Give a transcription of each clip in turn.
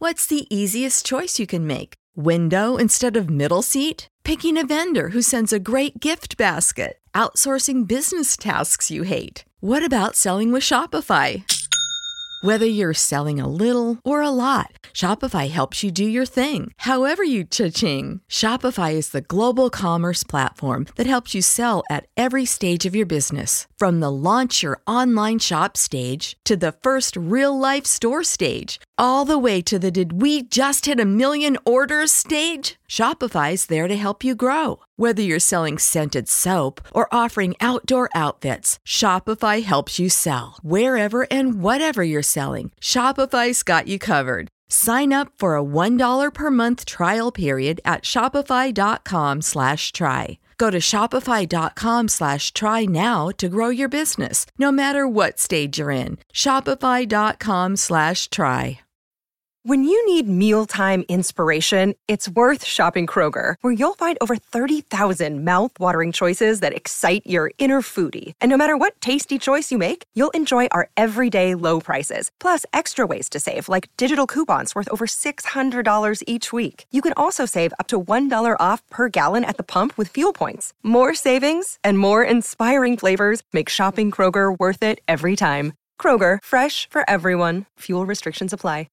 What's the easiest choice you can make? Window instead of middle seat? Picking a vendor who sends a great gift basket? Outsourcing business tasks you hate? What about selling with Shopify? Whether you're selling a little or a lot, Shopify helps you do your thing, however you cha-ching. Shopify is the global commerce platform that helps you sell at every stage of your business. From the launch your online shop stage to the first real-life store stage, all the way to the did we just hit a million orders stage? Shopify's there to help you grow. Whether you're selling scented soap or offering outdoor outfits, Shopify helps you sell. Wherever and whatever you're selling, Shopify's got you covered. Sign up for a $1 per month trial period at shopify.com/try. Go to shopify.com/try now to grow your business, no matter what stage you're in. Shopify.com/try. When you need mealtime inspiration, it's worth shopping Kroger, where you'll find over 30,000 mouth-watering choices that excite your inner foodie. And no matter what tasty choice you make, you'll enjoy our everyday low prices, plus extra ways to save, like digital coupons worth over $600 each week. You can also save up to $1 off per gallon at the pump with fuel points. More savings and more inspiring flavors make shopping Kroger worth it every time. Kroger, fresh for everyone. Fuel restrictions apply.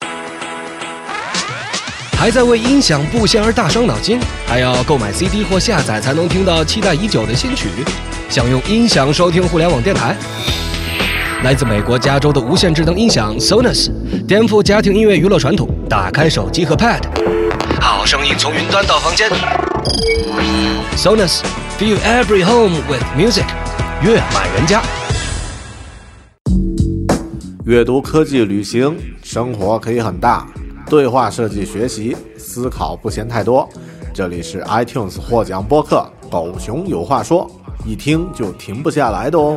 还在为音响布线而大伤脑筋，还要购买 CD 或下载才能听到期待已久的新曲？想用音响收听互联网电台？来自美国加州的无线智能音响 Sonos 颠覆家庭音乐娱乐传统，打开手机和 Pad， 好声音从云端到房间。Sonos Fill every home with music， 悦满人家。 阅读、科技、旅行，生活可以很大。对话设计学习，思考不嫌太多。这里是 iTunes 获奖播客狗熊有话说，一听就停不下来的哦。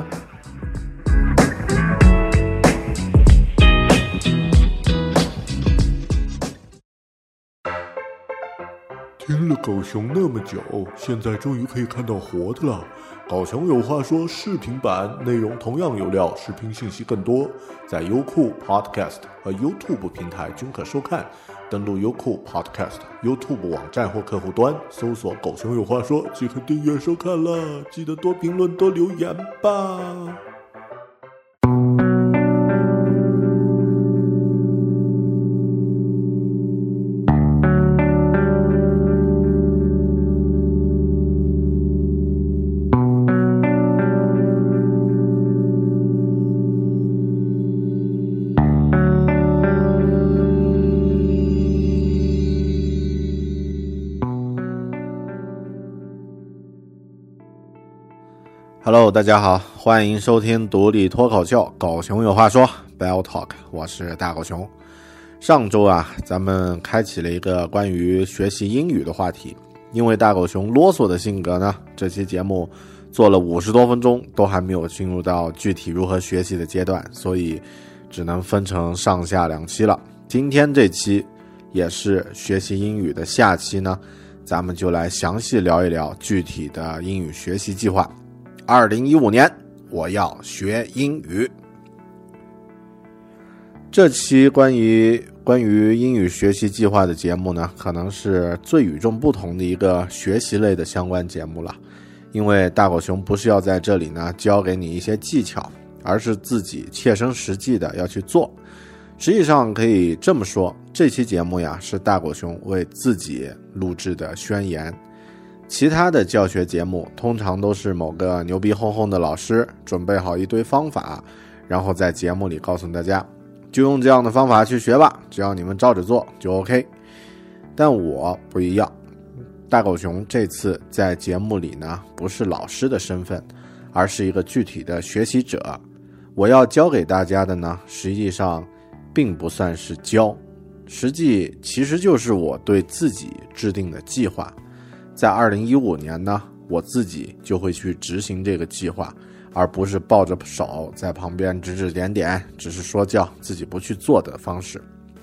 听了狗熊那么久，现在终于可以看到活的了。狗熊有话说视频版内容同样有料，视频信息更多，在优酷 Podcast 和 YouTube 平台均可收看。登录优酷 Podcast、YouTube 网站或客户端，搜索狗熊有话说即可订阅收看了。记得多评论多留言吧。Hello， 大家好，欢迎收听独立脱口秀狗熊有话说 Bell Talk， 我是大狗熊。上周咱们开启了一个关于学习英语的话题，因为大狗熊啰嗦的性格呢，这期节目做了50多分钟都还没有进入到具体如何学习的阶段，所以只能分成上下2期了。今天这期也是学习英语的下期呢，咱们就来详细聊一聊具体的英语学习计划。2015年我要学英语。这期关于英语学习计划的节目呢，可能是最与众不同的一个学习类的相关节目了。因为大狗熊不是要在这里呢教给你一些技巧，而是自己切身实际的要去做。实际上可以这么说，这期节目是大狗熊为自己录制的宣言。其他的教学节目通常都是某个牛逼哄哄的老师准备好一堆方法，然后在节目里告诉大家就用这样的方法去学吧，只要你们照着做就 OK。 但我不一样，大狗熊这次在节目里呢不是老师的身份，而是一个具体的学习者。我要教给大家的呢，实际上并不算是教，其实就是我对自己制定的计划。在2015年呢，我自己就会去执行这个计划，而不是抱着手在旁边指指点点，只是说教自己不去做的方式。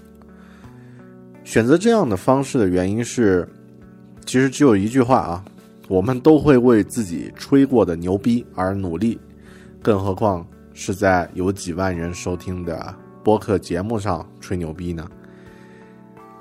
选择这样的方式的原因是，其实只有一句话我们都会为自己吹过的牛逼而努力，更何况是在有几万人收听的播客节目上吹牛逼呢？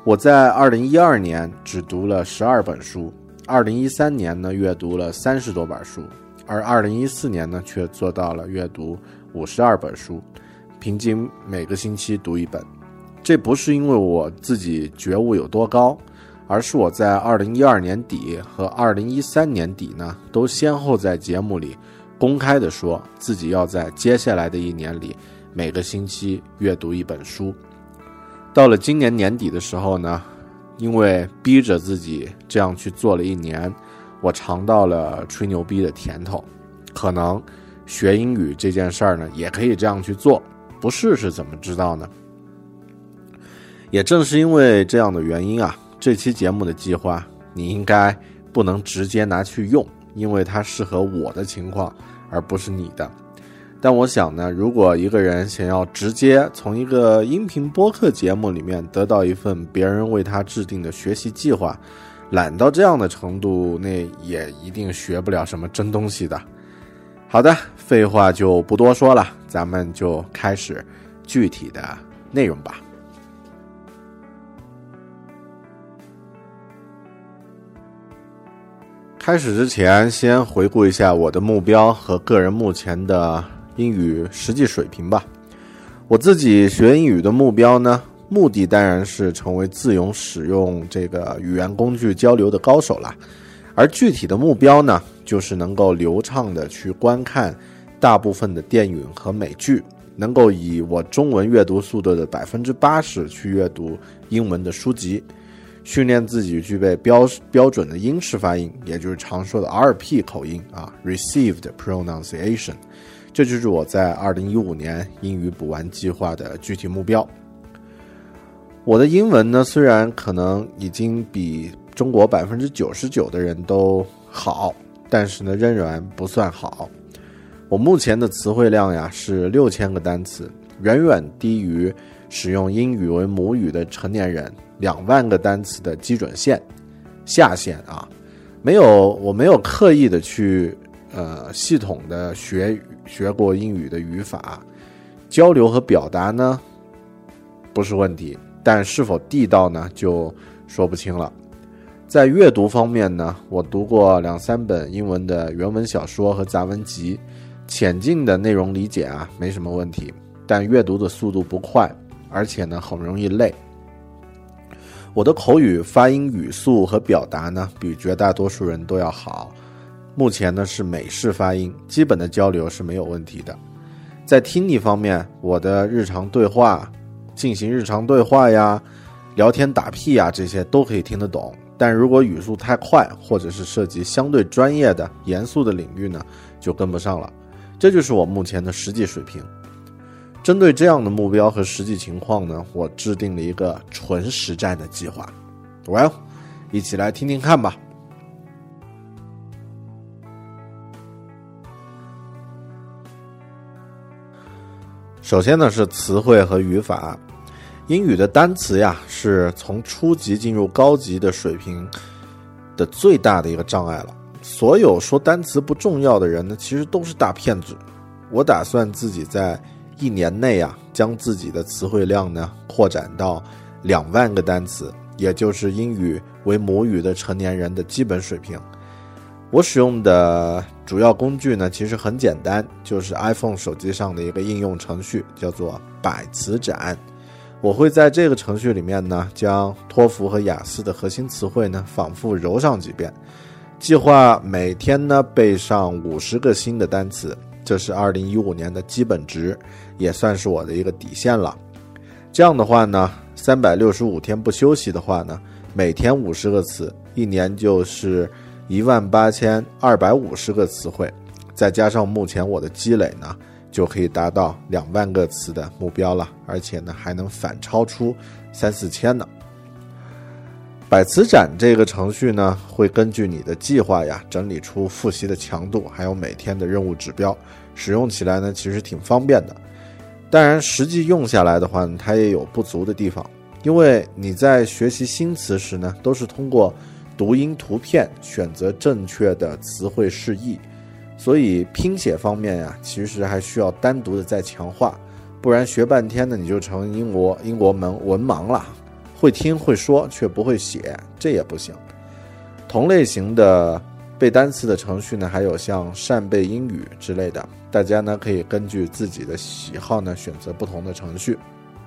我在2012年只读了12本书，2013年呢阅读了30多本书，而2014年呢却做到了阅读52本书，平均每个星期读一本。这不是因为我自己觉悟有多高，而是我在2012年底和2013年底呢，都先后在节目里公开的说自己要在接下来的一年里每个星期阅读一本书。到了今年年底的时候呢，因为逼着自己这样去做了一年，我尝到了吹牛逼的甜头。可能学英语这件事儿呢，也可以这样去做，不试试怎么知道呢？也正是因为这样的原因啊，这期节目的计划你应该不能直接拿去用，因为它适合我的情况，而不是你的。但我想呢，如果一个人想要直接从一个音频播客节目里面得到一份别人为他制定的学习计划，懒到这样的程度，那也一定学不了什么真东西的。好的，废话就不多说了，咱们就开始具体的内容吧。开始之前，先回顾一下我的目标和个人目前的英语实际水平吧。我自己学英语的目标呢，目的当然是成为自由使用这个语言工具交流的高手啦。而具体的目标呢，就是能够流畅的去观看大部分的电影和美剧，能够以我中文阅读速度的 80% 去阅读英文的书籍，训练自己具备标准的英式发音，也就是常说的 RP 口音啊 Received Pronunciation。 这就是我在2015年英语补完计划的具体目标。我的英文呢，虽然可能已经比中国 99% 的人都好，但是呢仍然不算好。我目前的词汇量呀是6000个单词，远远低于使用英语为母语的成年人2万个单词的基准线下限啊。我没有刻意的去系统的学过英语的语法，交流和表达呢不是问题，但是否地道呢就说不清了。在阅读方面呢，我读过2-3本英文的原文小说和杂文集，浅近的内容理解啊没什么问题，但阅读的速度不快，而且呢很容易累。我的口语发音语速和表达呢比绝大多数人都要好，目前呢是美式发音，基本的交流是没有问题的。在听力方面，我的进行日常对话呀、聊天打屁呀，这些都可以听得懂，但如果语速太快，或者是涉及相对专业的严肃的领域呢，就跟不上了。这就是我目前的实际水平。针对这样的目标和实际情况呢，我制定了一个纯实战的计划。一起来听听看吧。首先呢是词汇和语法。英语的单词呀，是从初级进入高级的水平的最大的一个障碍了。所有说单词不重要的人呢，其实都是大骗子。我打算自己在1年内啊，将自己的词汇量呢扩展到2万个单词，也就是英语为母语的成年人的基本水平。我使用的主要工具呢，其实很简单，就是 iPhone 手机上的一个应用程序，叫做百词斩。我会在这个程序里面呢，将托福和雅思的核心词汇呢反复揉上几遍，计划每天呢背上50个新的单词，这是2015年的基本值，也算是我的一个底线了。这样的话呢，365天不休息的话呢，每天50个词，一年就是18250个词汇，再加上目前我的积累呢，就可以达到2万个词的目标了，而且呢还能反超出3-4千呢。百词斩这个程序呢，会根据你的计划呀，整理出复习的强度，还有每天的任务指标，使用起来呢其实挺方便的。当然实际用下来的话呢，它也有不足的地方，因为你在学习新词时呢，都是通过读音图片选择正确的词汇释义，所以拼写方面呀，其实还需要单独的再强化，不然学半天呢，你就成英国文盲了， 会听会说却不会写，这也不行。同类型的背单词的程序呢，还有像扇贝英语之类的，大家呢可以根据自己的喜好呢选择不同的程序。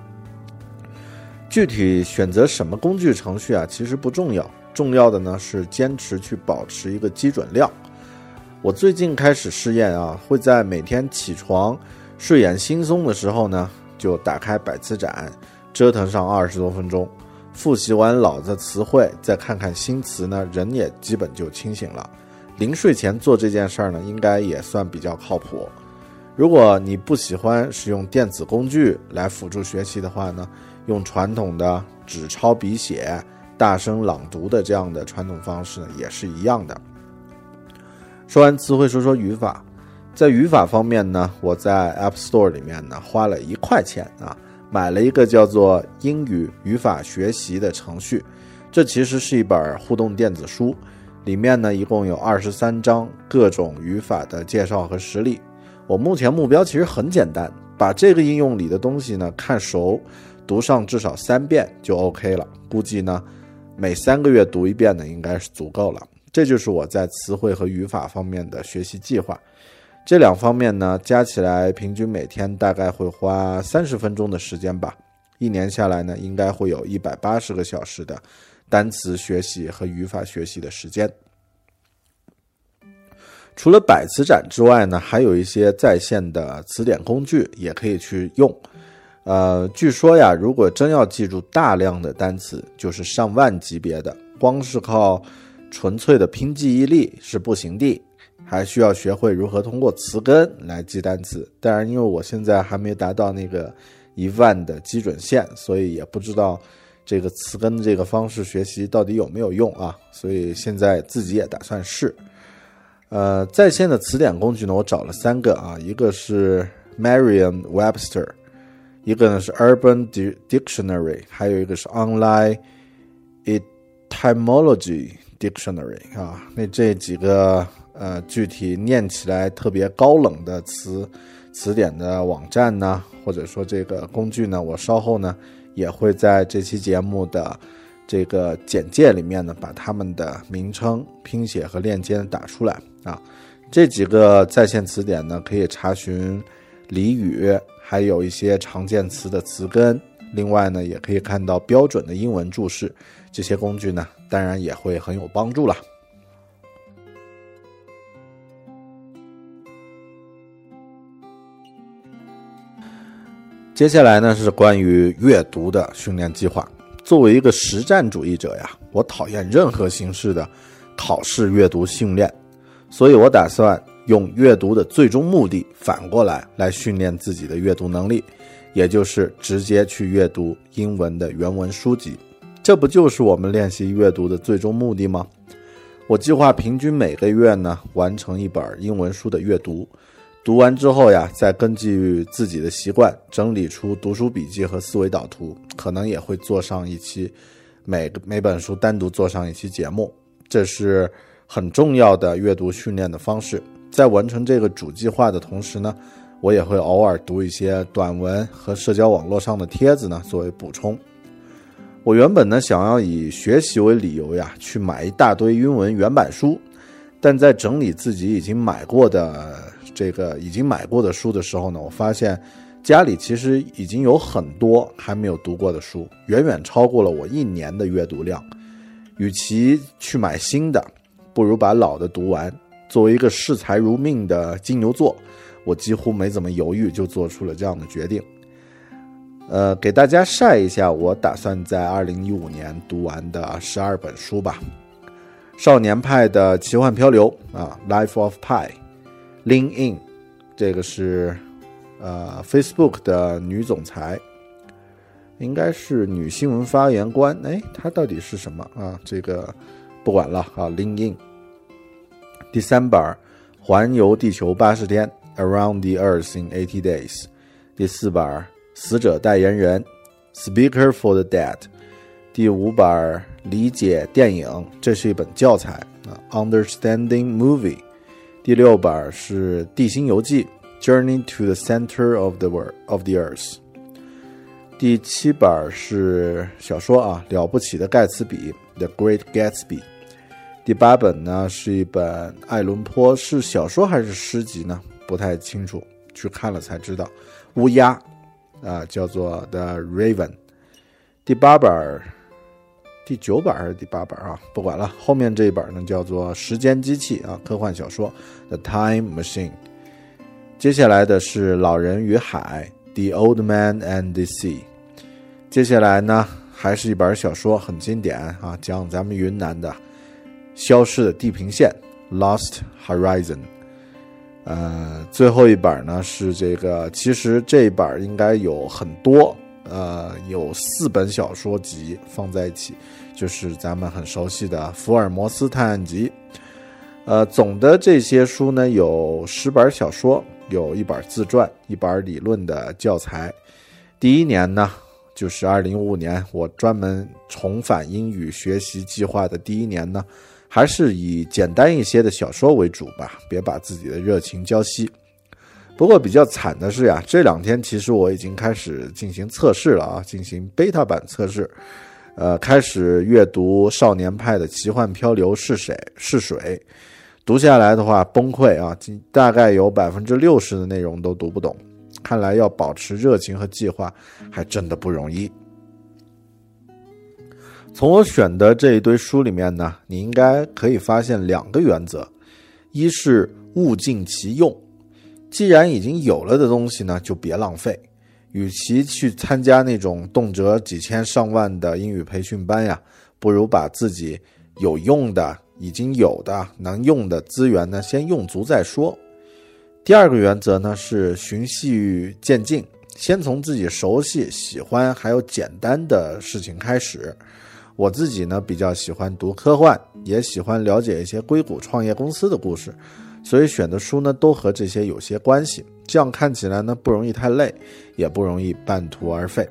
具体选择什么工具程序啊，其实不重要，重要的呢是坚持去保持一个基准量。我最近开始试验啊，会在每天起床睡眼惺忪的时候呢，就打开百词斩，折腾上20多分钟，复习完老的词汇，再看看新词呢，人也基本就清醒了。临睡前做这件事儿呢，应该也算比较靠谱。如果你不喜欢使用电子工具来辅助学习的话呢，用传统的纸抄笔写、大声朗读的这样的传统方式呢，也是一样的。说完词汇，说说语法。在语法方面呢，我在 App Store 里面呢花了1块钱啊，买了一个叫做英语语法学习的程序。这其实是一本互动电子书，里面呢一共有23章各种语法的介绍和实例。我目前目标其实很简单，把这个应用里的东西呢看熟，读上至少3遍就 OK 了。估计呢每3个月读1遍呢应该是足够了。这就是我在词汇和语法方面的学习计划。这2方面呢加起来平均每天大概会花30分钟的时间吧。1年下来呢应该会有180个小时的单词学习和语法学习的时间。除了百词斩之外呢，还有一些在线的词典工具也可以去用。据说呀，如果真要记住大量的单词，就是上万级别的，光是靠纯粹的拼记忆力是不行的，还需要学会如何通过词根来记单词。当然因为我现在还没达到那个1万的基准线，所以也不知道这个词根这个方式学习到底有没有用啊，所以现在自己也打算试。在线的词典工具呢，我找了3个啊，一个是 Merriam-Webster， 一个呢是 Urban Dictionary， 还有一个是 Online Etymology Dictionary 啊。那这几个具体念起来特别高冷的词典的网站呢，或者说这个工具呢，我稍后呢也会在这期节目的这个简介里面呢把它们的名称、拼写和链接打出来啊。这几个在线词典呢可以查询俚语，还有一些常见词的词根，另外呢也可以看到标准的英文注释。这些工具呢当然也会很有帮助了。接下来呢是关于阅读的训练计划。作为一个实战主义者呀，我讨厌任何形式的考试阅读训练，所以我打算用阅读的最终目的反过来训练自己的阅读能力，也就是直接去阅读英文的原文书籍。这不就是我们练习阅读的最终目的吗？我计划平均每个月呢完成一本英文书的阅读，读完之后呀，再根据自己的习惯整理出读书笔记和思维导图，可能也会做上一期每本书单独做上一期节目。这是很重要的阅读训练的方式。在完成这个主计划的同时呢，我也会偶尔读一些短文和社交网络上的帖子呢作为补充。我原本呢想要以学习为理由呀，去买一大堆英文原版书，但在整理自己已经买过的书的时候呢，我发现家里其实已经有很多还没有读过的书，远远超过了我1年的阅读量。与其去买新的，不如把老的读完。作为一个视财如命的金牛座，我几乎没怎么犹豫就做出了这样的决定。给大家晒一下我打算在2015年读完的12本书吧。少年派的奇幻漂流啊 Life of Pi， Lean In， 这个是Facebook 的女总裁，应该是女新闻发言官，她到底是什么啊？这个不管了啊 Lean In。 第3本环游地球80天 Around the Earth in 80 Days。 第4本死者代言人 Speaker for the Dead。 第5本理解电影，这是一本教材Understanding Movie。 第6本是地心游记 Journey to the Center of the Earth。 第7本是小说啊，了不起的盖茨比 The Great Gatsby。第8本呢是一本爱伦坡，是小说还是诗集呢？不太清楚，去看了才知道。乌鸦叫做 The Raven。第8本第9本还是第8本啊？不管了，后面这一本呢叫做时间机器啊，科幻小说 The Time Machine。接下来的是老人与海 The Old Man and the Sea。接下来呢还是一本小说，很经典啊，讲咱们云南的消失的地平线 Lost Horizon。最后一本呢是这个，其实这一本应该有很多，有4本小说集放在一起，就是咱们很熟悉的福尔摩斯探案集。总的这些书呢有10本小说，有1本自传，1本理论的教材。第一年呢就是2015年，我专门重返英语学习计划的第一年呢，还是以简单一些的小说为主吧，别把自己的热情浇熄。不过比较惨的是呀，这2天其实我已经开始进行测试了啊，进行 beta 版测试，开始阅读少年派的奇幻漂流试水，读下来的话崩溃啊，大概有 60% 的内容都读不懂，看来要保持热情和计划还真的不容易。从我选的这一堆书里面呢，你应该可以发现2个原则。一是物尽其用，既然已经有了的东西呢，就别浪费。与其去参加那种动辄几千上万的英语培训班呀，不如把自己有用的、已经有的、能用的资源呢，先用足再说。第2个原则呢是循序渐进，先从自己熟悉、喜欢还有简单的事情开始。我自己呢比较喜欢读科幻，也喜欢了解一些硅谷创业公司的故事，所以选的书呢都和这些有些关系，这样看起来呢不容易太累，也不容易半途而废。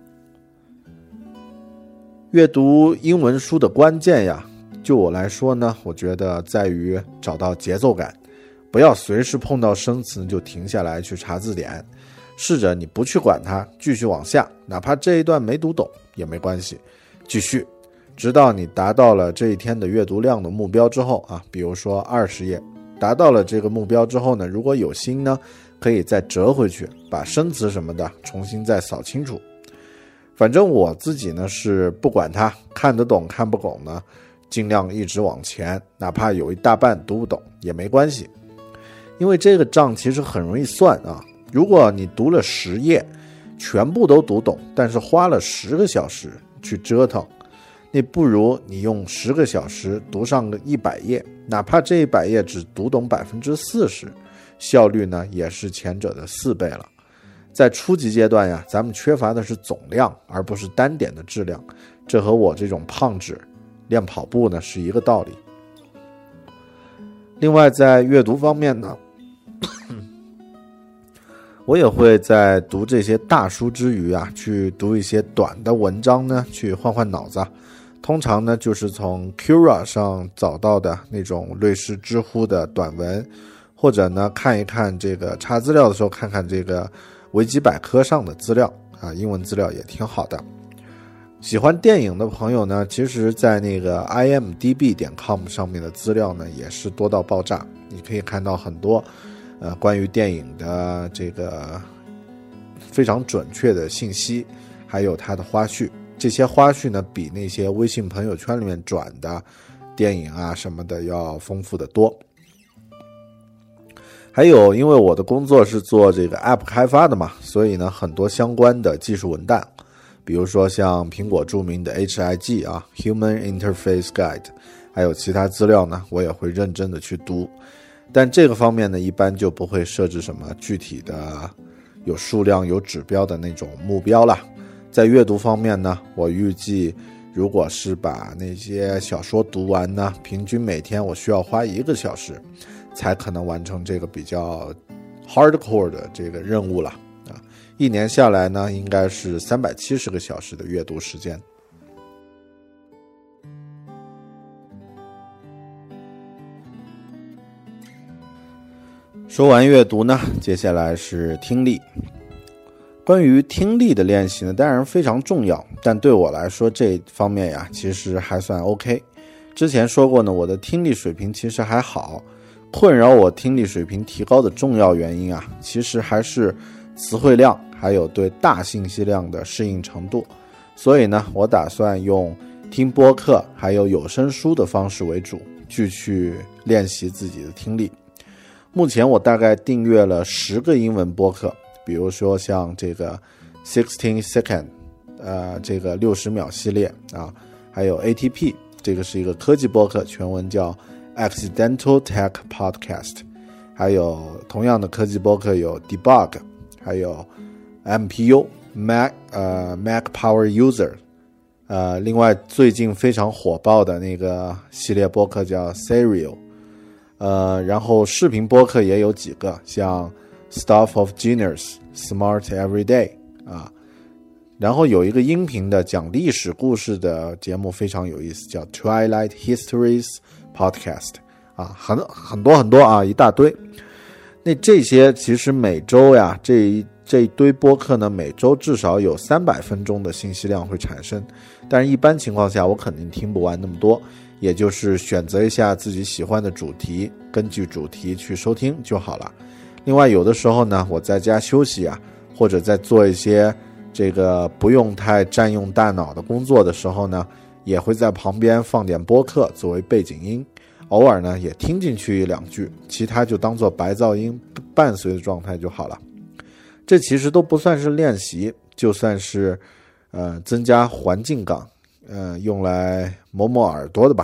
阅读英文书的关键呀，就我来说呢，我觉得在于找到节奏感，不要随时碰到生词就停下来去查字典，试着你不去管它，继续往下，哪怕这一段没读懂也没关系，继续直到你达到了这一天的阅读量的目标之后啊，比如说20页，达到了这个目标之后呢，如果有心呢，可以再折回去，把生词什么的重新再扫清楚。反正我自己呢是不管它，看得懂看不懂呢，尽量一直往前，哪怕有一大半读不懂也没关系。因为这个账其实很容易算啊，如果你读了10页，全部都读懂，但是花了10个小时去折腾，那不如你用10个小时读上个100页，哪怕这100页只读懂 40%， 效率呢也是前者的4倍了。在初级阶段呀，咱们缺乏的是总量，而不是单点的质量，这和我这种胖子练跑步呢是一个道理。另外在阅读方面呢，我也会在读这些大书之余啊，去读一些短的文章呢，去换换脑子。通常呢就是从 Quora 上找到的那种类似知乎的短文，或者呢看一看这个查资料的时候看看这个维基百科上的资料啊，英文资料也挺好的。喜欢电影的朋友呢，其实在那个 imdb.com 上面的资料呢也是多到爆炸，你可以看到很多关于电影的这个非常准确的信息，还有它的花絮。这些花絮呢比那些微信朋友圈里面转的电影啊什么的要丰富得多。还有因为我的工作是做这个 App 开发的嘛，所以呢很多相关的技术文档，比如说像苹果著名的 HIG 啊 Human Interface Guide， 还有其他资料呢我也会认真的去读。但这个方面呢一般就不会设置什么具体的有数量有指标的那种目标了。在阅读方面呢，我预计如果是把那些小说读完呢，平均每天我需要花1个小时才可能完成这个比较 hardcore 的这个任务了啊。1年下来呢，应该是370个小时的阅读时间。说完阅读呢，接下来是听力。 关于听力的练习呢，当然非常重要，但对我来说这方面呀，其实还算 OK。之前说过呢，我的听力水平其实还好，困扰我听力水平提高的重要原因啊，其实还是词汇量，还有对大信息量的适应程度。所以呢，我打算用听播客还有有声书的方式为主，去练习自己的听力。目前我大概订阅了10个英文播客，比如说像这个60 Second，这个60秒系列啊，还有 ATP， 这个是一个科技播客，全文叫 Accidental Tech Podcast， 还有同样的科技播客有 Debug， 还有 MPU Mac Power User， 另外最近非常火爆的那个系列播客叫 Serial， 然后视频播客也有几个，像 Stuff of Genius、Smart Everyday 啊，然后有一个音频的讲历史故事的节目非常有意思，叫 Twilight Histories Podcast 啊，很多啊，一大堆。那这些其实每周呀，这一堆播客呢，每周至少有300分钟的信息量会产生，但是一般情况下我肯定听不完那么多，也就是选择一下自己喜欢的主题，根据主题去收听就好了。另外有的时候呢，我在家休息啊，或者在做一些这个不用太占用大脑的工作的时候呢，也会在旁边放点播客作为背景音，偶尔呢也听进去1-2句，其他就当做白噪音伴随的状态就好了。这其实都不算是练习，就算是增加环境感，用来磨耳朵的吧。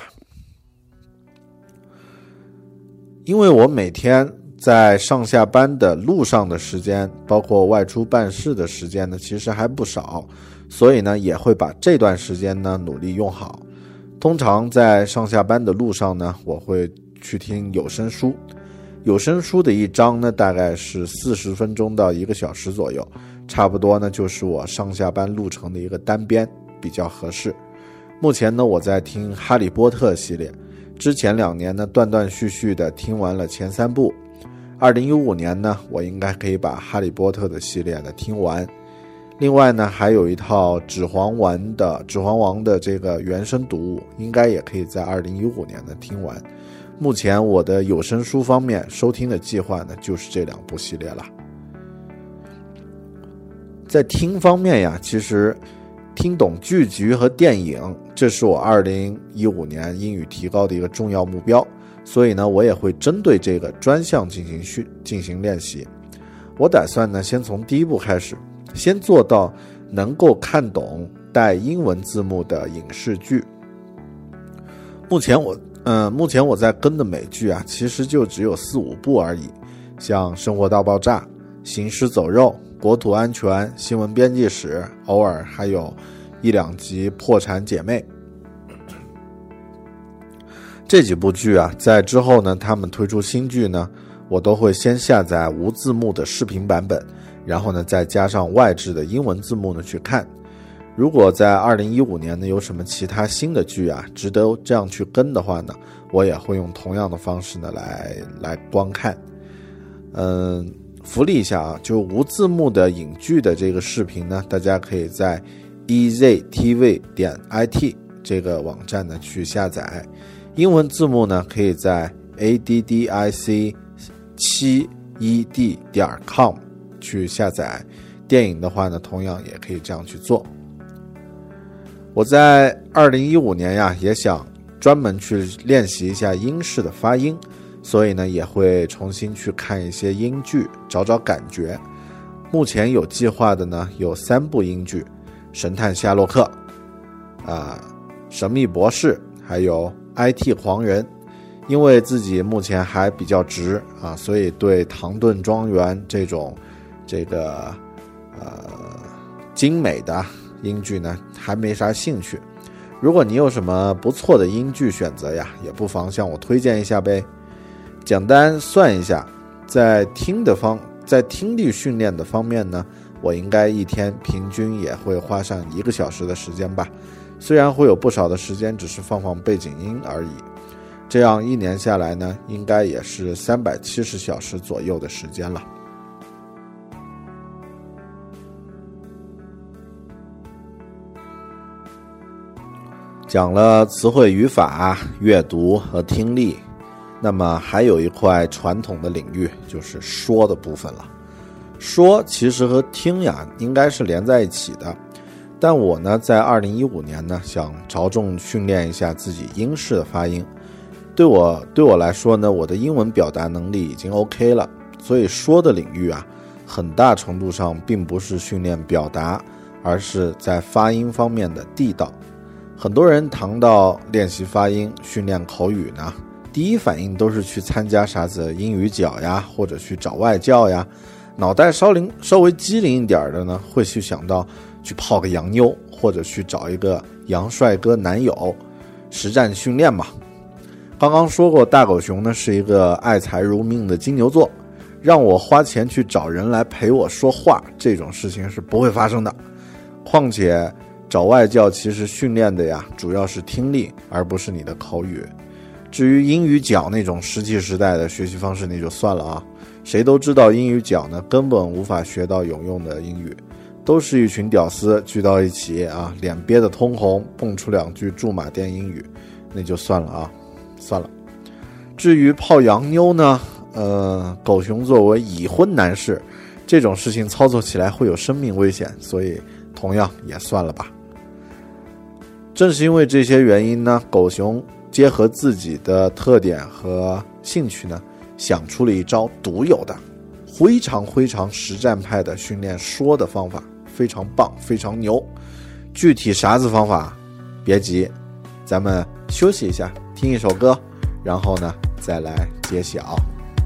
因为我每天在上下班的路上的时间，包括外出办事的时间呢，其实还不少，所以呢也会把这段时间呢努力用好。通常在上下班的路上呢，我会去听有声书，有声书的一章呢大概是40分钟到1个小时左右，差不多呢就是我上下班路程的一个单边，比较合适。目前呢我在听哈利波特系列，之前2年呢断断续续的听完了前3部，2015年呢我应该可以把哈利波特的系列呢听完。另外呢还有一套指环王的这个原声读物，应该也可以在2015年呢听完。目前我的有声书方面收听的计划呢就是这2部系列了。在听方面呀，其实听懂剧集和电影，这是我2015年英语提高的一个重要目标，所以呢我也会针对这个专项进行练习。我打算呢先从第1步开始，先做到能够看懂带英文字幕的影视剧。目前我在跟的美剧啊，其实就只有4-5部而已，像《生活大爆炸》、《行尸走肉》、《国土安全》、《新闻编辑室》，偶尔还有1-2集《破产姐妹》。这几部剧啊，在之后呢他们推出新剧呢，我都会先下载无字幕的视频版本，然后呢再加上外置的英文字幕呢去看。如果在2015年呢有什么其他新的剧啊值得这样去跟的话呢，我也会用同样的方式呢来观看。福利一下啊，就无字幕的影剧的这个视频呢，大家可以在 eztv.it 这个网站呢去下载，英文字幕呢可以在 addic7ed.com 去下载，电影的话呢同样也可以这样去做。我在2015年呀也想专门去练习一下英式的发音，所以呢也会重新去看一些英剧，找找感觉。目前有计划的呢有3部英剧，神探夏洛克、神秘博士，还有 IT 黄人。因为自己目前还比较直啊，所以对唐顿庄园这种精美的英剧呢还没啥兴趣。如果你有什么不错的英剧选择呀，也不妨向我推荐一下呗。简单算一下，在听力训练的方面呢，我应该一天平均也会花上1个小时的时间吧，虽然会有不少的时间只是放背景音而已。这样1年下来呢，应该也是370小时左右的时间了。 讲了词汇语法、阅读和听力，那么还有一块传统的领域，就是说的部分了。说其实和听呀应该是连在一起的，但我呢在2015年呢想着重训练一下自己英式的发音。对我来说呢，我的英文表达能力已经 OK 了，所以说的领域啊，很大程度上并不是训练表达，而是在发音方面的地道。很多人谈到练习发音、训练口语呢，第一反应都是去参加啥子英语角呀，或者去找外教呀。脑袋稍微机灵一点的呢，会去想到去泡个洋妞，或者去找一个洋帅哥男友，实战训练嘛。刚刚说过，大狗熊呢是一个爱财如命的金牛座，让我花钱去找人来陪我说话，这种事情是不会发生的。况且找外教其实训练的呀，主要是听力，而不是你的口语。至于英语角那种石器时代的学习方式，那就算了啊。谁都知道英语角呢根本无法学到有用的英语，都是一群屌丝聚到一起啊，脸憋得通红，蹦出两句驻马店英语，那就算了啊。算了，至于泡洋妞呢，狗熊作为已婚男士，这种事情操作起来会有生命危险，所以同样也算了吧。正是因为这些原因呢，狗熊结合自己的特点和兴趣呢，想出了一招独有的、非常实战派的训练说的方法，非常棒，非常牛。具体啥子方法，别急，咱们休息一下。听一首歌，然后呢再来揭晓。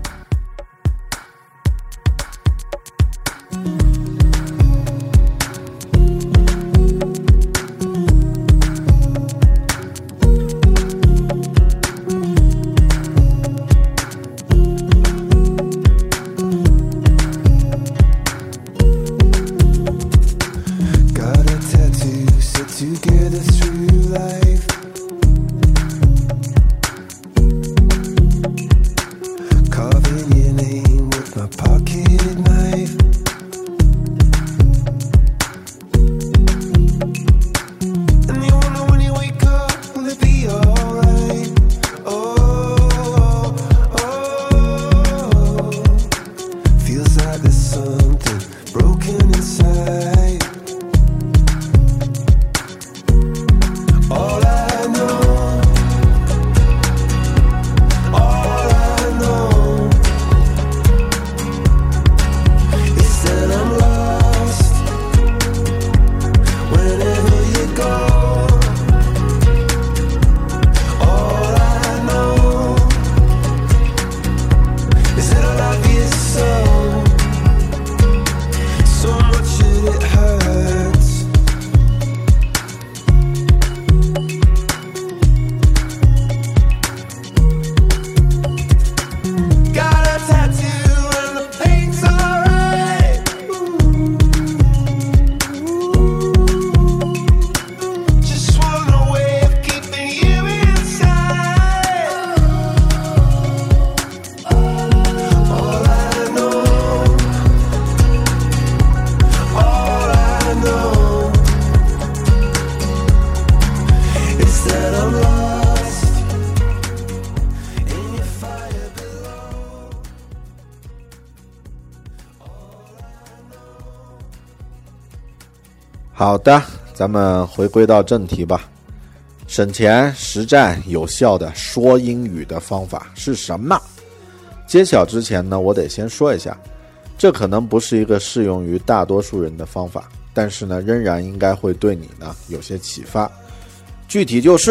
好的，咱们回归到正题吧。省钱、实战、有效的说英语的方法是什么？揭晓之前呢，我得先说一下，这可能不是一个适用于大多数人的方法，但是呢，仍然应该会对你呢有些启发。具体就是，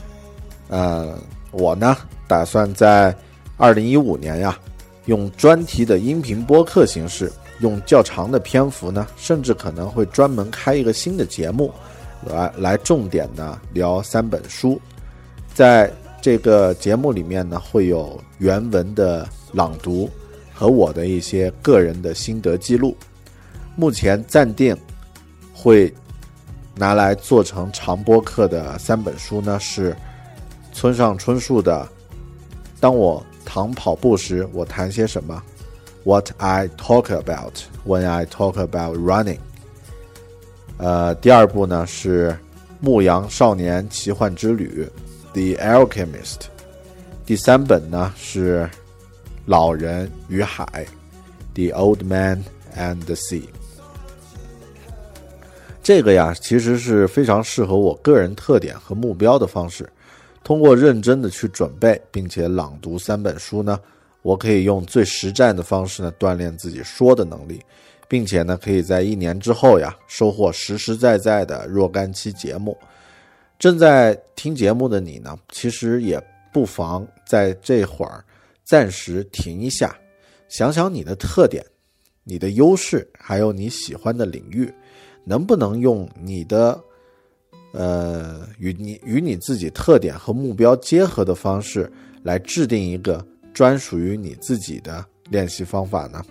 我呢打算在2015年呀，用专题的音频播客形式，用较长的篇幅呢，甚至可能会专门开一个新的节目，来重点的聊3本书。在这个节目里面呢，会有原文的朗读和我的一些个人的心得记录。目前暂定会拿来做成长播客的3本书呢，是村上春树的《当我躺跑步时我谈些什么》What I talk about when I talk about running。第二部呢是牧羊少年奇幻之旅 The Alchemist， 第3本呢是老人与海 The Old Man and the Sea。 这个呀其实是非常适合我个人特点和目标的方式，通过认真的去准备并且朗读3本书呢，我可以用最实战的方式呢锻炼自己说的能力，并且呢可以在1年之后呀收获实实在在的若干期节目。正在听节目的你呢，其实也不妨在这会儿暂时停一下，想想你的特点、你的优势，还有你喜欢的领域，能不能用你的与你自己特点和目标结合的方式来制定一个专属于你自己的练习方法呢？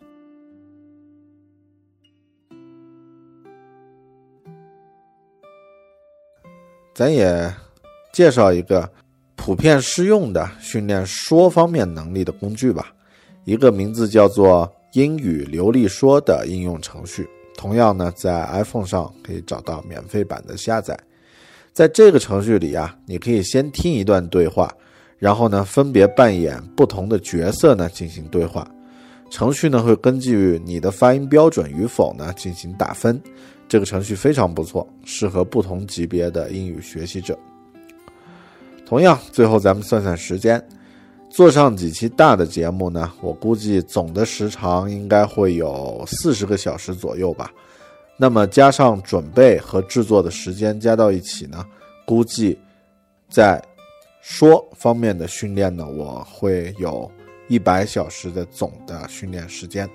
咱也介绍一个普遍适用的训练说方面能力的工具吧，一个名字叫做英语流利说的应用程序，同样呢在 iPhone 上可以找到免费版的下载。在这个程序里啊，你可以先听一段对话，然后呢分别扮演不同的角色呢进行对话。程序呢会根据你的发音标准与否呢进行打分。这个程序非常不错，适合不同级别的英语学习者。同样，最后咱们算算时间，做上几期大的节目呢，我估计总的时长应该会有40个小时左右吧。那么加上准备和制作的时间加到一起呢，估计在说方面的训练呢，我会有100小时的总的训练时间。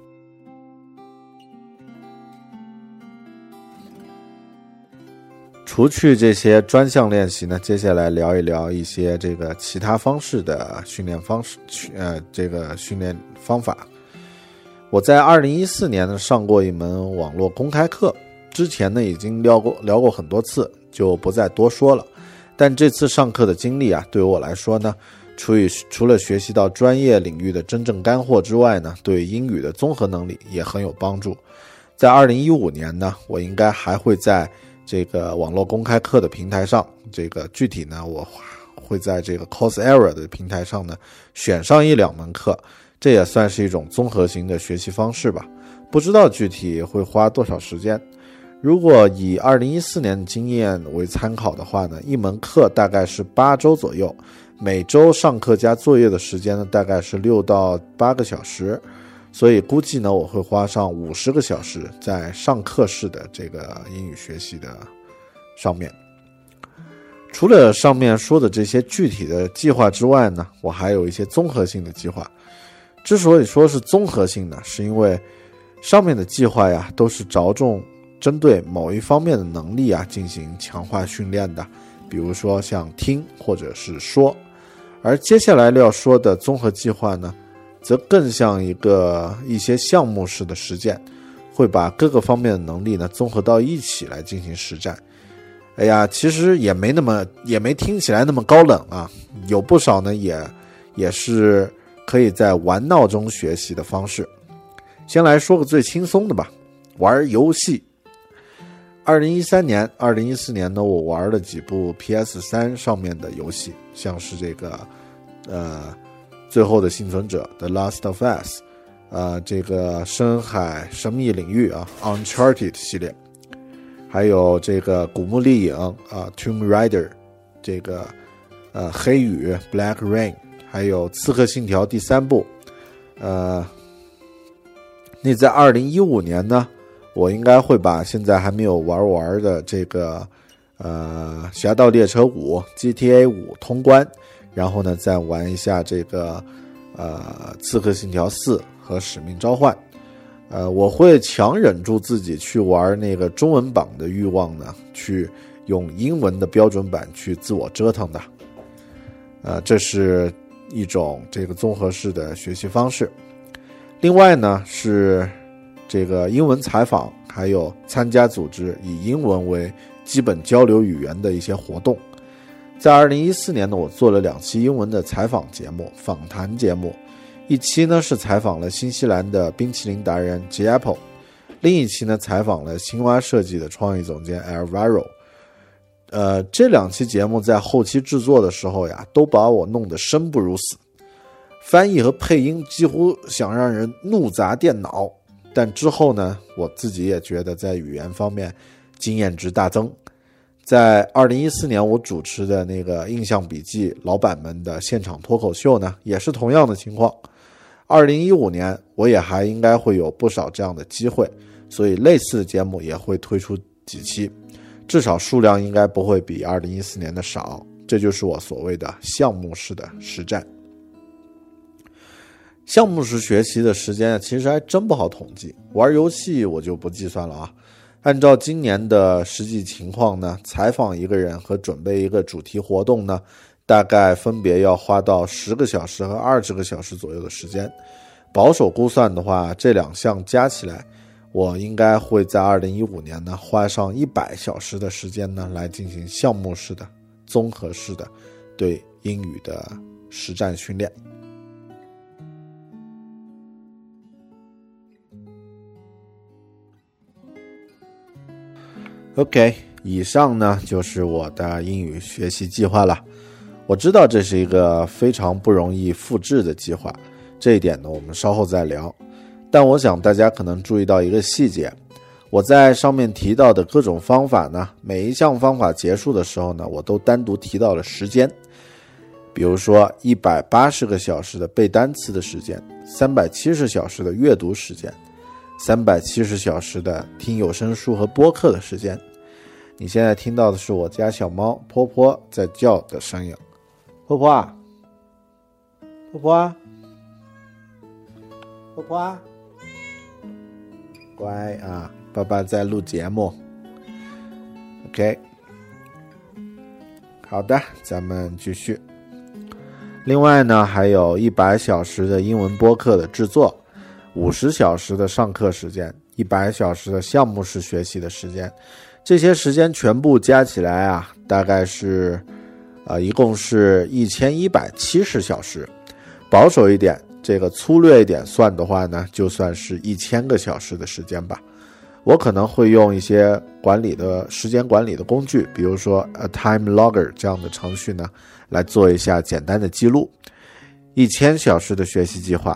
除去这些专项练习呢，接下来聊一聊一些这个其他方式的训练方式，这个训练方法。我在2014年呢上过一门网络公开课，之前呢已经聊过很多次，就不再多说了。但这次上课的经历啊，对我来说呢，除了学习到专业领域的真正干货之外呢，对英语的综合能力也很有帮助。在2015年呢，我应该还会在这个网络公开课的平台上，这个具体呢我会在这个 Coursera 的平台上呢选上1-2门课，这也算是一种综合型的学习方式吧。不知道具体会花多少时间。如果以2014年的经验为参考的话呢，一门课大概是8周左右，每周上课加作业的时间呢大概是6到8个小时，所以估计呢我会花上50个小时在上课式的这个英语学习的上面。除了上面说的这些具体的计划之外呢，我还有一些综合性的计划。之所以说是综合性呢，是因为上面的计划呀都是着重针对某一方面的能力啊进行强化训练的，比如说像听或者是说。而接下来要说的综合计划呢，则更像一些项目式的实践，会把各个方面的能力呢综合到一起来进行实战。哎呀，其实也没听起来那么高冷啊，有不少呢也是可以在玩闹中学习的方式。先来说个最轻松的吧，玩游戏。2014年呢，我玩了几部 PS3 上面的游戏，像是这个最后的幸存者 The Last of Us， 这个深海神秘领域啊 Uncharted 系列，还有这个古墓丽影Tomb Raider， 这个黑雨 Black Rain， 还有刺客信条第3部。那在2015年呢，我应该会把现在还没有玩的这个侠盗猎车5 GTA 5通关，然后呢再玩一下这个刺客信条4和使命召唤。我会强忍住自己去玩那个中文版的欲望呢，去用英文的标准版去自我折腾的。这是一种这个综合式的学习方式。另外呢是这个英文采访，还有参加组织以英文为基本交流语言的一些活动。在2014年呢，我做了2期英文的采访节目、访谈节目。一期呢是采访了新西兰的冰淇淋达人 J Apple， 另一期呢采访了青蛙设计的创意总监 Alvaro。 这2期节目在后期制作的时候呀，都把我弄得生不如死，翻译和配音几乎想让人怒砸电脑。但之后呢，我自己也觉得在语言方面经验值大增。在2014年我主持的那个印象笔记老板们的现场脱口秀呢，也是同样的情况。2015年我也还应该会有不少这样的机会，所以类似的节目也会推出几期，至少数量应该不会比2014年的少。这就是我所谓的项目式的实战。项目式学习的时间其实还真不好统计，玩游戏我就不计算了啊。按照今年的实际情况呢，采访一个人和准备一个主题活动呢，大概分别要花到10个小时和20个小时左右的时间。保守估算的话，这2项加起来，我应该会在2015年呢花上100小时的时间呢，来进行项目式的、综合式的对英语的实战训练。OK， 以上呢就是我的英语学习计划了。我知道这是一个非常不容易复制的计划，这一点呢我们稍后再聊。但我想大家可能注意到一个细节，我在上面提到的各种方法呢，每一项方法结束的时候呢，我都单独提到了时间。比如说180个小时的背单词的时间，370小时的阅读时间，370小时的听有声书和播客的时间。你现在听到的是我家小猫波波在叫的声音。波波啊，波波啊，波波啊，乖啊，爸爸在录节目。 OK， 好的，咱们继续。另外呢，还有100小时的英文播客的制作，50小时的上课时间，100小时的项目式学习的时间，这些时间全部加起来啊，大概是一共是1170小时。保守一点，这个粗略一点算的话呢，就算是1000个小时的时间吧。我可能会用一些时间管理的工具，比如说 A Time Logger 这样的程序呢，来做一下简单的记录。1000小时的学习计划，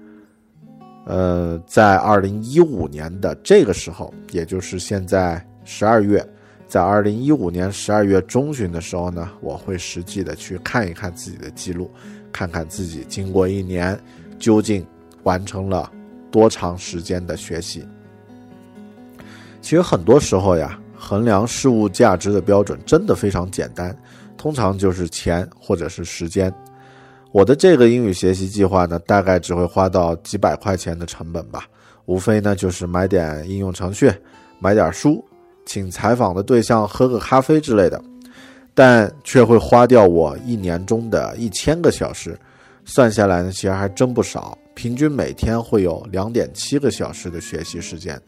在2015年的这个时候，也就是现在12月，在2015年12月中旬的时候呢，我会实际的去看一看自己的记录，看看自己经过1年究竟完成了多长时间的学习。其实很多时候呀，衡量事物价值的标准真的非常简单，通常就是钱或者是时间。我的这个英语学习计划呢，大概只会花到几百块钱的成本吧，无非呢就是买点应用程序，买点书，请采访的对象喝个咖啡之类的，但却会花掉我1年中的1000个小时，算下来呢，其实还真不少，平均每天会有2.7个小时的学习时间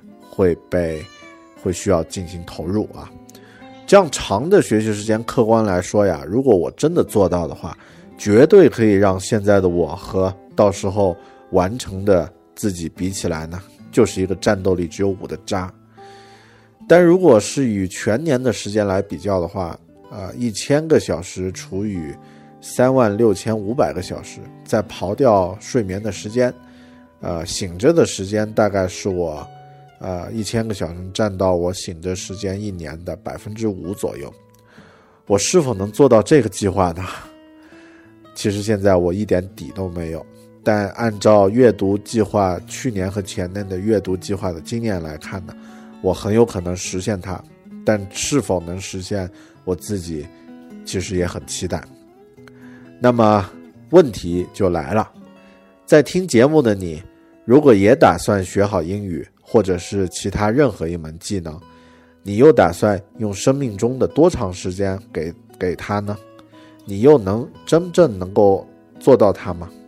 会需要进行投入啊。这样长的学习时间，客观来说呀，如果我真的做到的话，绝对可以让现在的我和到时候完成的自己比起来呢，就是一个战斗力只有5的渣。但如果是与全年的时间来比较的话，1000个小时除以36500个小时，再刨掉睡眠的时间，醒着的时间大概是我1000个小时占到我醒着时间1年的 5% 左右。我是否能做到这个计划呢？其实现在我一点底都没有，但按照阅读计划去年和前年的阅读计划的经验来看呢，我很有可能实现它，但是否能实现我自己其实也很期待。那么问题就来了，在听节目的你，如果也打算学好英语或者是其他任何一门技能，你又打算用生命中的多长时间给它呢？你又能真正能够做到它吗？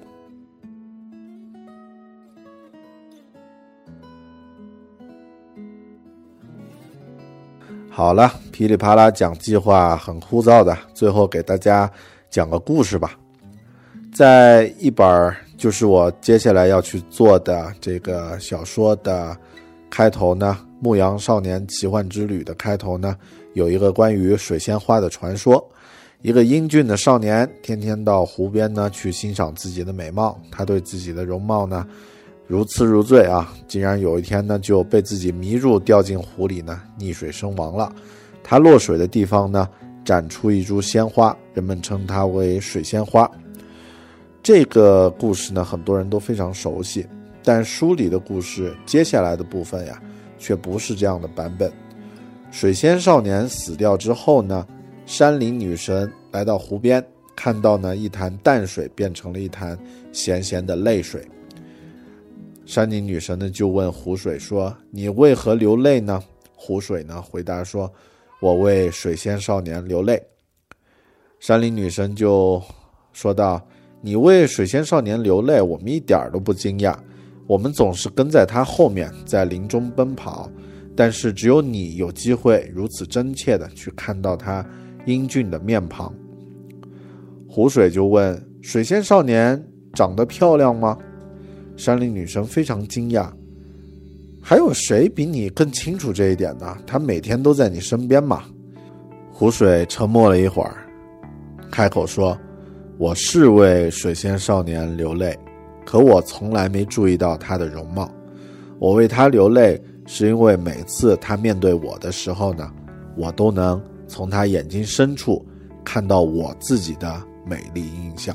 好了，噼里啪啦讲计划很枯燥的，最后给大家讲个故事吧。在一本就是我接下来要去做的这个小说的开头呢，《牧羊少年奇幻之旅》的开头呢， 有一个关于水仙花的传说。一个英俊的少年天天到湖边呢去欣赏自己的美貌，他对自己的容貌呢如痴如醉啊，竟然有一天呢就被自己迷住，掉进湖里呢溺水身亡了。他落水的地方呢展出一株鲜花，人们称它为水仙花。这个故事呢很多人都非常熟悉，但书里的故事接下来的部分呀却不是这样的版本。水仙少年死掉之后呢，山林女神来到湖边，看到呢一潭淡水变成了一潭咸咸的泪水。山林女神呢就问湖水说，你为何流泪呢？湖水呢回答说，我为水仙少年流泪。山林女神就说道，你为水仙少年流泪，我们一点都不惊讶，我们总是跟在他后面在林中奔跑，但是只有你有机会如此真切地去看到他英俊的面庞。湖水就问，水仙少年长得漂亮吗？山林女神非常惊讶，还有谁比你更清楚这一点呢？他每天都在你身边嘛。湖水沉默了一会儿，开口说，我是为水仙少年流泪，可我从来没注意到他的容貌。我为他流泪是因为每次他面对我的时候呢，我都能从他眼睛深处看到我自己的美丽印象。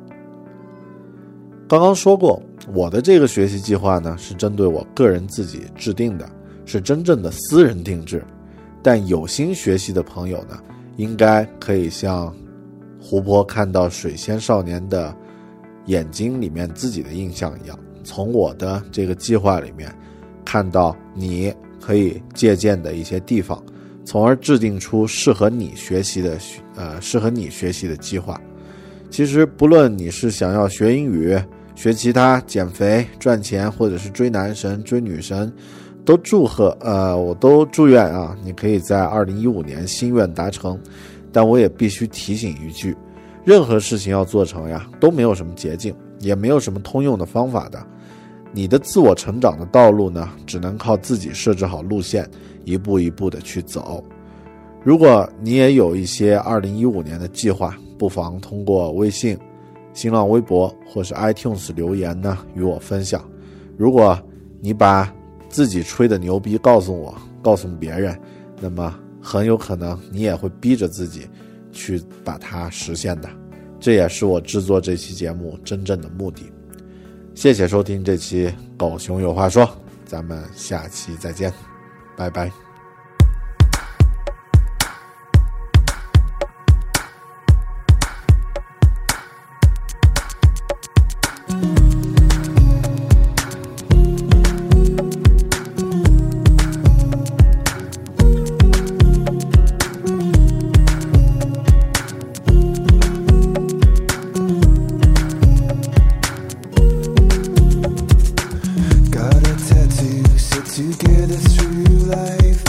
刚刚说过，我的这个学习计划呢是针对我个人自己制定的，是真正的私人定制。但有心学习的朋友呢，应该可以像湖泊看到水仙少年的眼睛里面自己的印象一样，从我的这个计划里面看到你可以借鉴的一些地方，从而制定出适合你学习的计划。其实不论你是想要学英语、学其他、减肥、赚钱，或者是追男神、追女神，我都祝愿啊，你可以在2015年心愿达成。但我也必须提醒一句，任何事情要做成呀，都没有什么捷径，也没有什么通用的方法的。你的自我成长的道路呢，只能靠自己设置好路线，一步一步的去走。如果你也有一些2015年的计划，不妨通过微信、新浪微博或是 iTunes 留言呢与我分享。如果你把自己吹的牛逼告诉我，告诉别人，那么很有可能你也会逼着自己去把它实现的。这也是我制作这期节目真正的目的。谢谢收听这期狗熊有话说，咱们下期再见，拜拜。 Together through life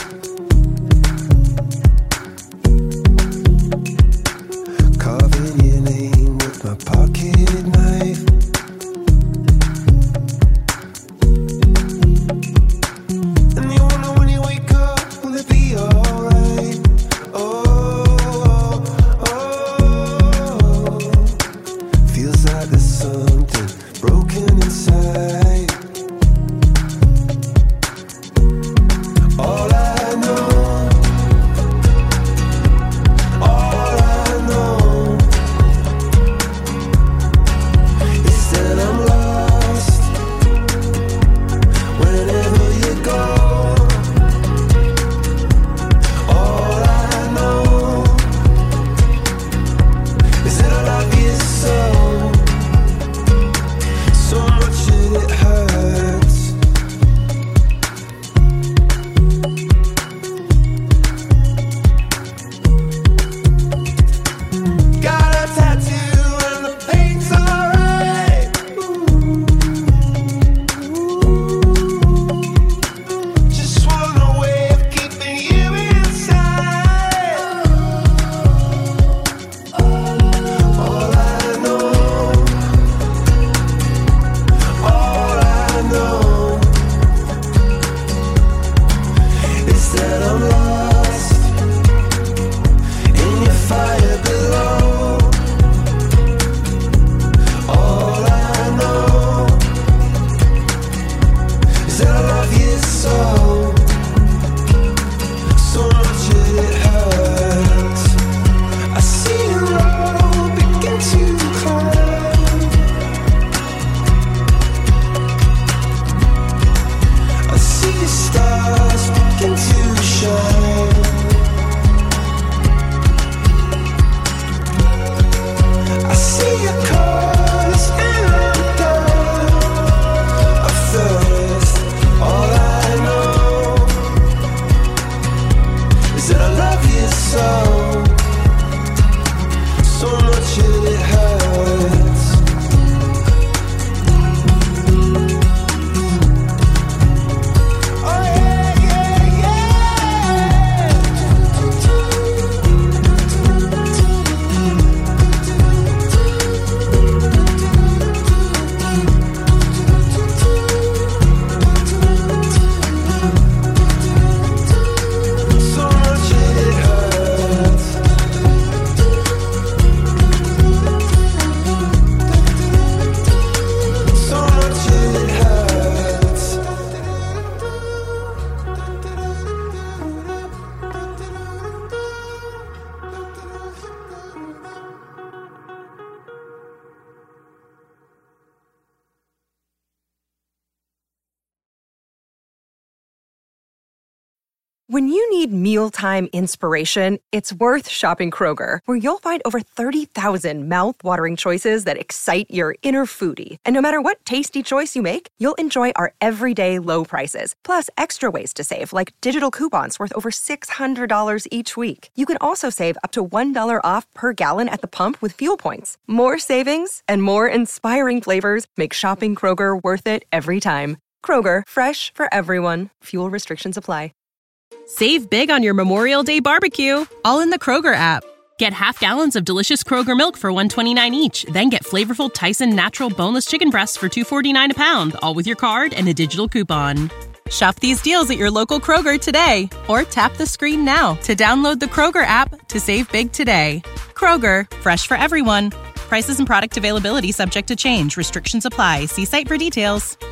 When you need mealtime inspiration, it's worth shopping Kroger, where you'll find over 30,000 mouth-watering choices that excite your inner foodie. And no matter what tasty choice you make, you'll enjoy our everyday low prices, plus extra ways to save, like digital coupons worth over $600 each week. You can also save up to $1 off per gallon at the pump with fuel points. More savings and more inspiring flavors make shopping Kroger worth it every time. Kroger, fresh for everyone. Fuel restrictions apply. Save big on your Memorial Day barbecue, all in the Kroger app. Get half gallons of delicious Kroger milk for $1.29 each. Then get flavorful Tyson natural boneless chicken breasts for $2.49 a pound, all with your card and a digital coupon. Shop these deals at your local Kroger today, or tap the screen now to download the Kroger app to save big today. Kroger, fresh for everyone. Prices and product availability subject to change. Restrictions apply. See site for details.